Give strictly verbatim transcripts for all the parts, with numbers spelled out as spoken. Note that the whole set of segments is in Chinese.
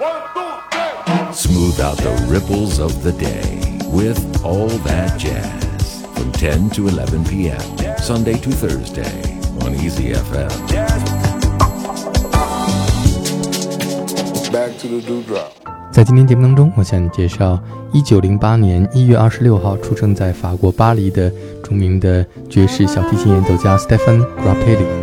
Smooth out the ripples of the day with All That Jazz from ten to eleven p.m. Sunday to Thursday on Easy F M. Back to the dewdrop. 在今天节目当中，我向你介绍一九零八年一月二十六号出生在法国巴黎的著名的爵士小提琴演奏家 Stéphane Grappelli。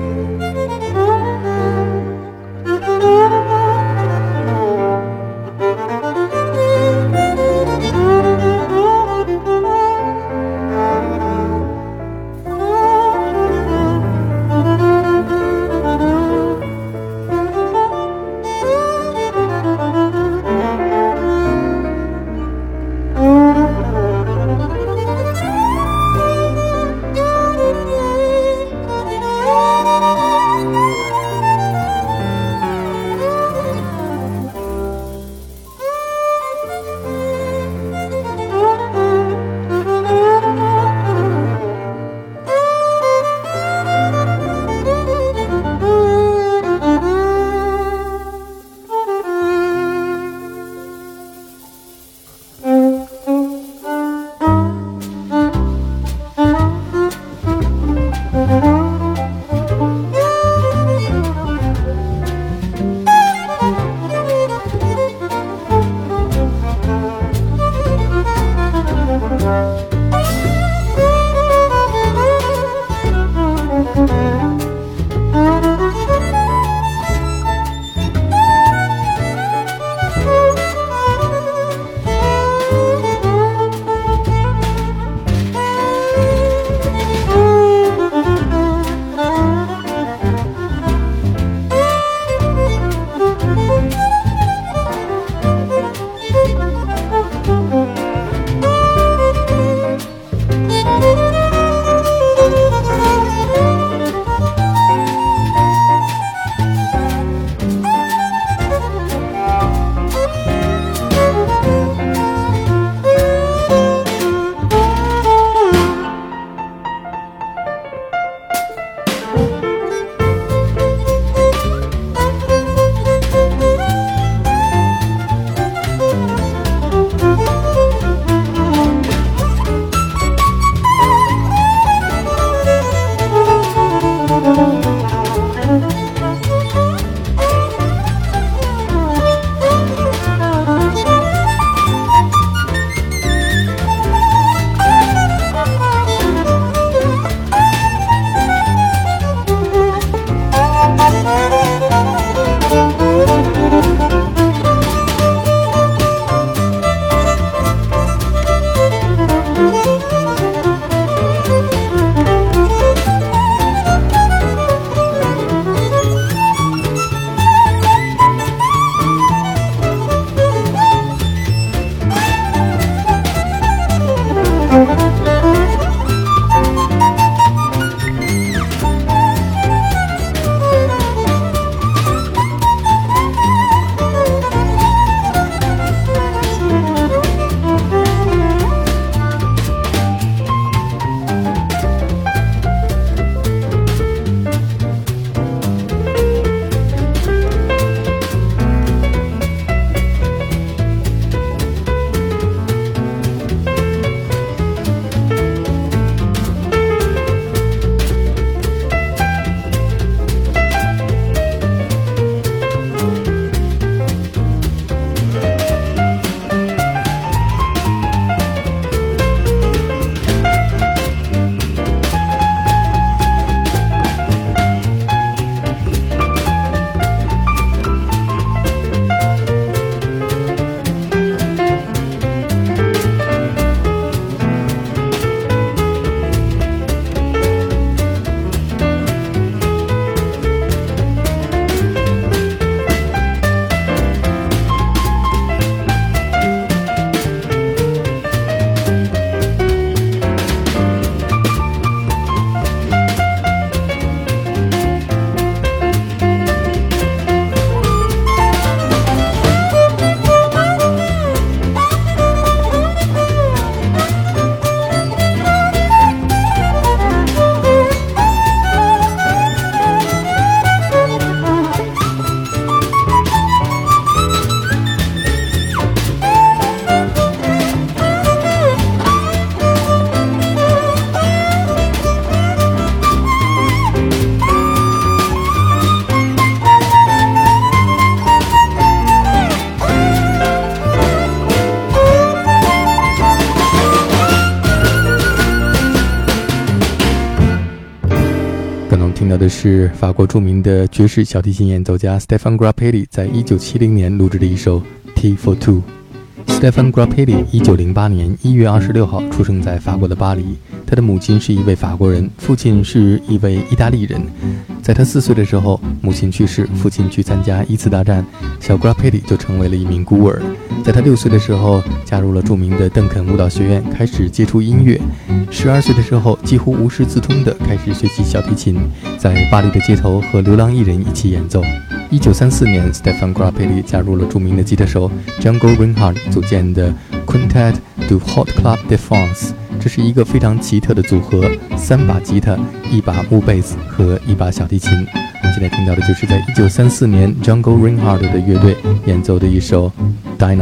的是法国著名的爵士小提琴演奏家 Stéphane Grappelli 在一九七零年录制的一首 Tea for Two。Stéphane Grappelli 一九零八年一月二十六号出生在法国的巴黎，他的母亲是一位法国人，父亲是一位意大利人。在他四岁的时候，母亲去世，父亲去参加一次大战，小 Grappelli 就成为了一名孤儿。在他六岁的时候，加入了著名的邓肯舞蹈学院，开始接触音乐。十二岁的时候，几乎无师自通地开始学习小提琴，在巴黎的街头和流浪艺人一起演奏。一九三四年 Stéphane Grappelli 加入了著名的吉他手 Django Reinhardt 组建的 Quintet du Hot Club de France， 这是一个非常奇特的组合，三把吉他，一把木贝斯和一把小提琴。我们现在听到的就是在一九三四年 Django Reinhardt 的乐队演奏的一首 Dinah。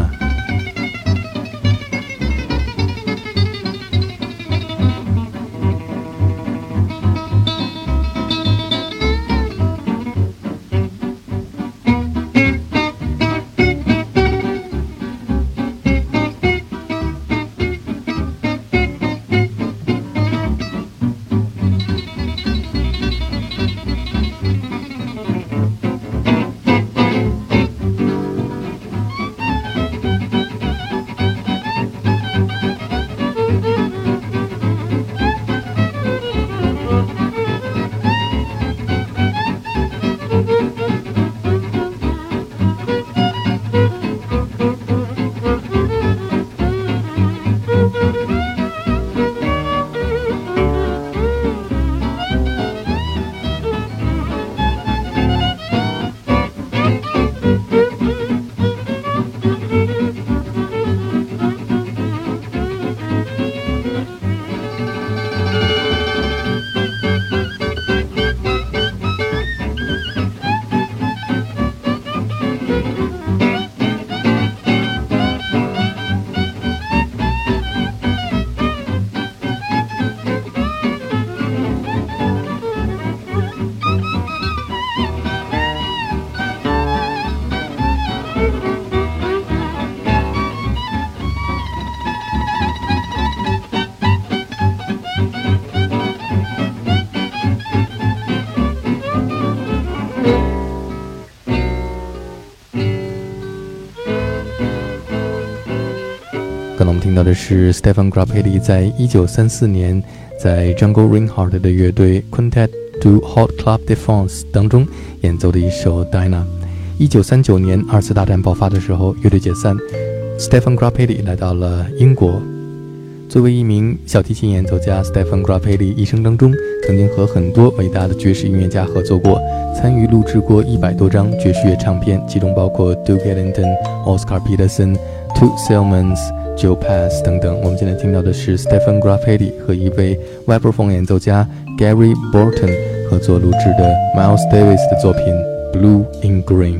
刚才我们听到的是 Stéphane Grappelli 在一九三四年在 Django Reinhardt 的乐队 Quintet du Hot Club de France 当中演奏的一首 Dinah。一九三九年二次大战爆发的时候，乐队解散， Stéphane Grappelli 来到了英国。作为一名小提琴演奏家， Stéphane Grappelli 一生当中曾经和很多伟大的爵士音乐家合作过，参与录制过一百多张爵士乐唱片，其中包括 Duke Ellington、Oscar Peterson、Toots Thielemans、Joe Pass 等等。我们现在听到的是 Stéphane Grappelli 和一位 vibraphone 演奏家 Gary Burton 合作录制的 Miles Davis 的作品 Blue in Green。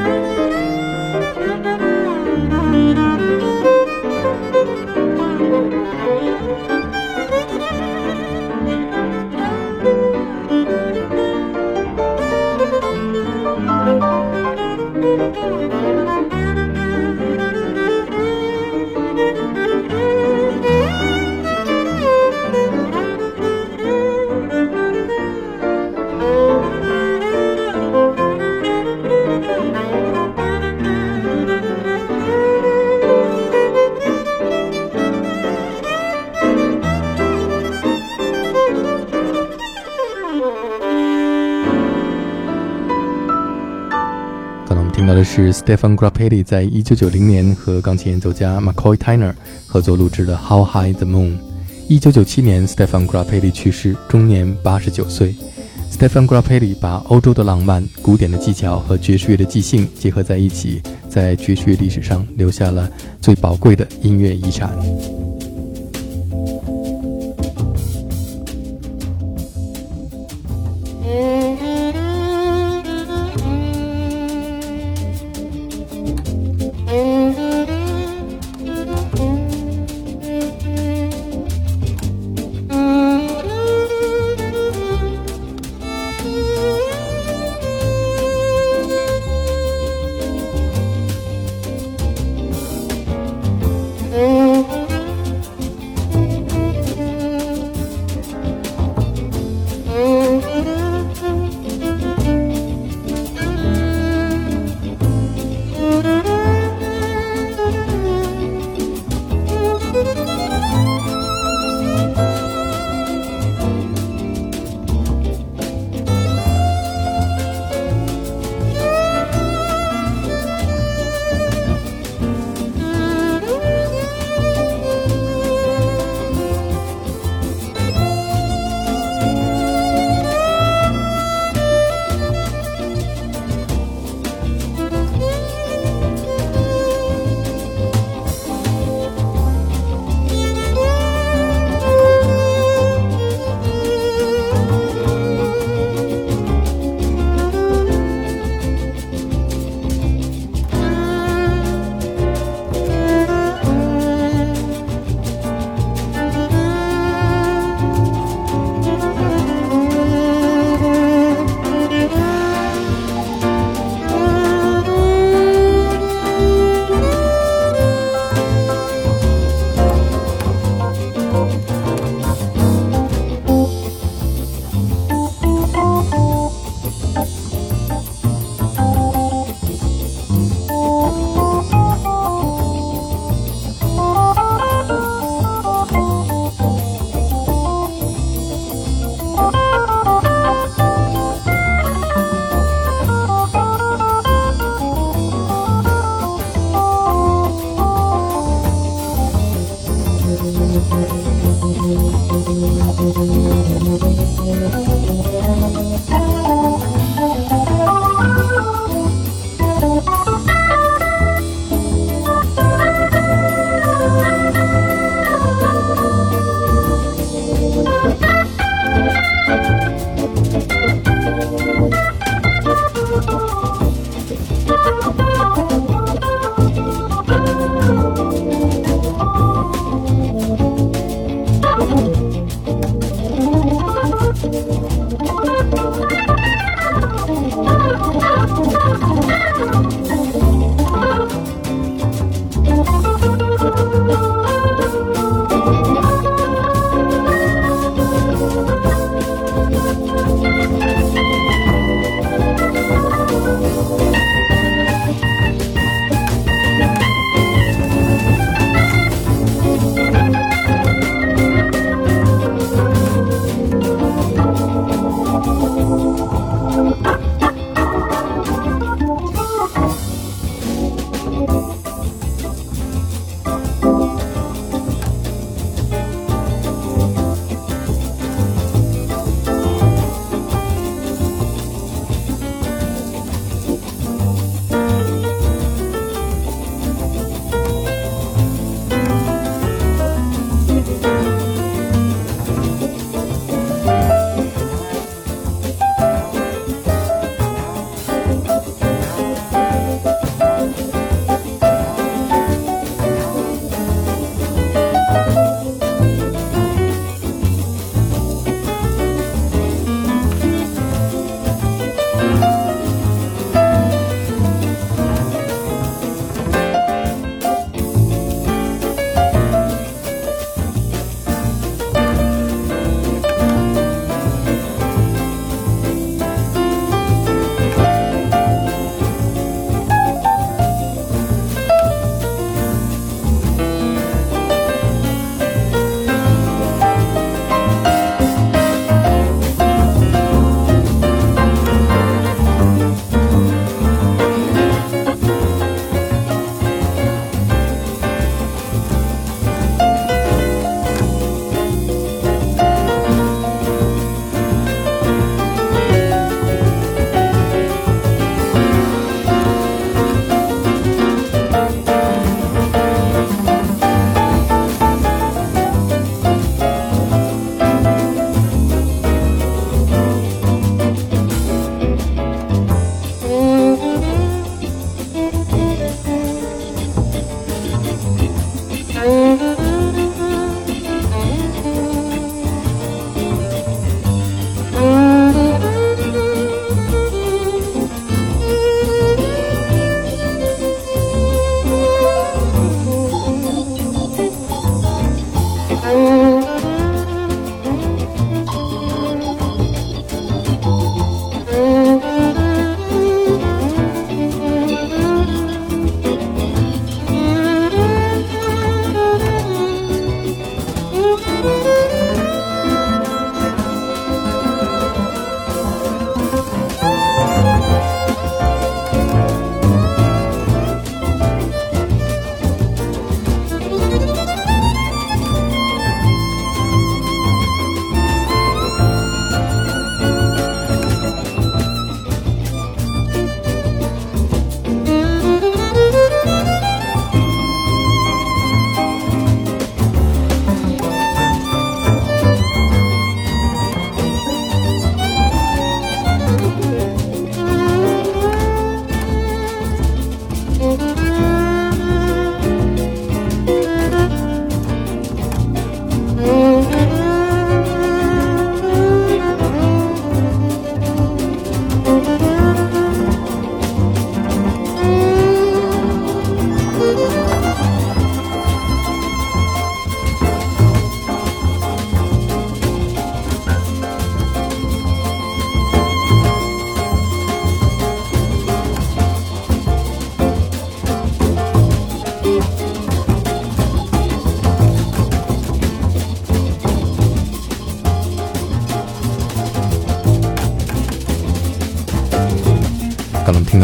听到的是 Stefan Grappelli 在一九九零年和钢琴演奏家 McCoy Tyner 合作录制的 How High the Moon。一九九七年 Stefan Grappelli 去世，终年八十九岁。Stefan Grappelli 把欧洲的浪漫、古典的技巧和爵士乐的即兴结合在一起，在爵士乐历史上留下了最宝贵的音乐遗产。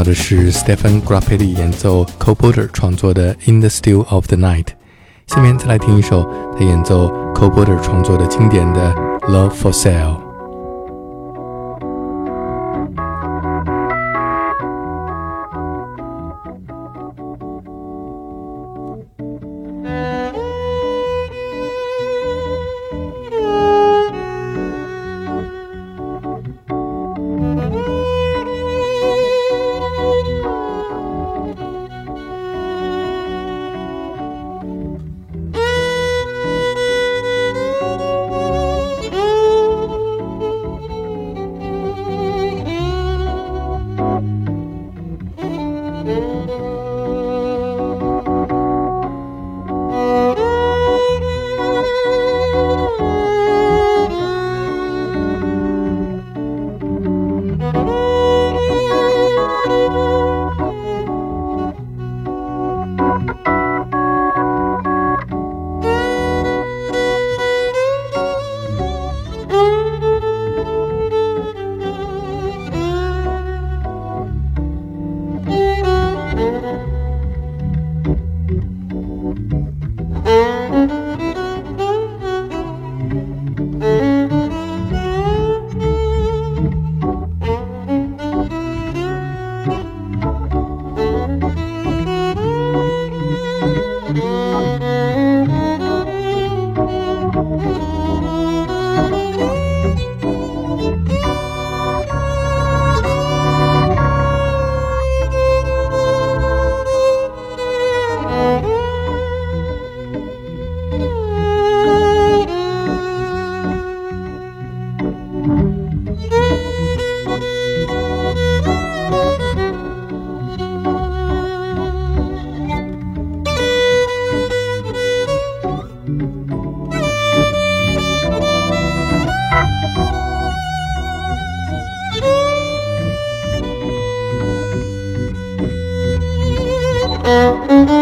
到的是 Stefan Grappelli 演奏 Cole Porter 创作的 In the Still of the Night。下面再来听一首他演奏 Cole Porter 创作的经典的 Love for Sale。 Mm-hmm.